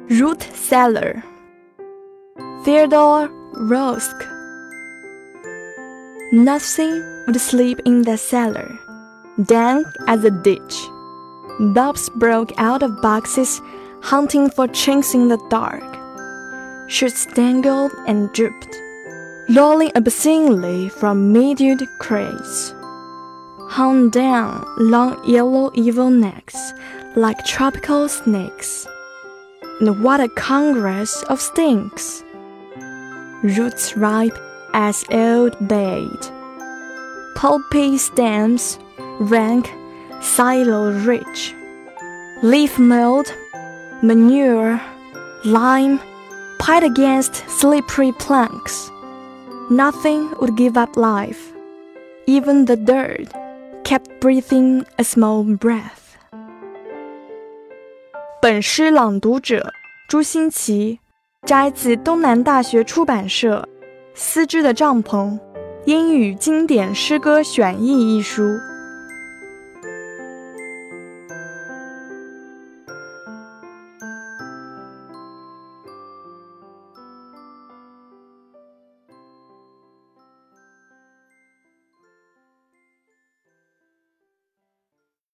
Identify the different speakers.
Speaker 1: Root cellar. Theodore Rosk. Nothing would sleep in the cellar, dank as a ditch. Bulbs broke out of boxes, hunting for chinks in the dark. Shoots dangled and drooped, lolling obscenely from minute crates. Hung down long yellow evil necks like tropical snakes. And what a congress of stinks! Roots ripe as old bait, pulpy stems, rank, silo-rich, leaf mold, manure, lime, piled against slippery planks. Nothing would give up life. Even the dirt kept breathing a small breath. 本诗朗读者朱新奇，摘自东南大学出版社《丝织的帐篷：英语经典诗歌选译》一书。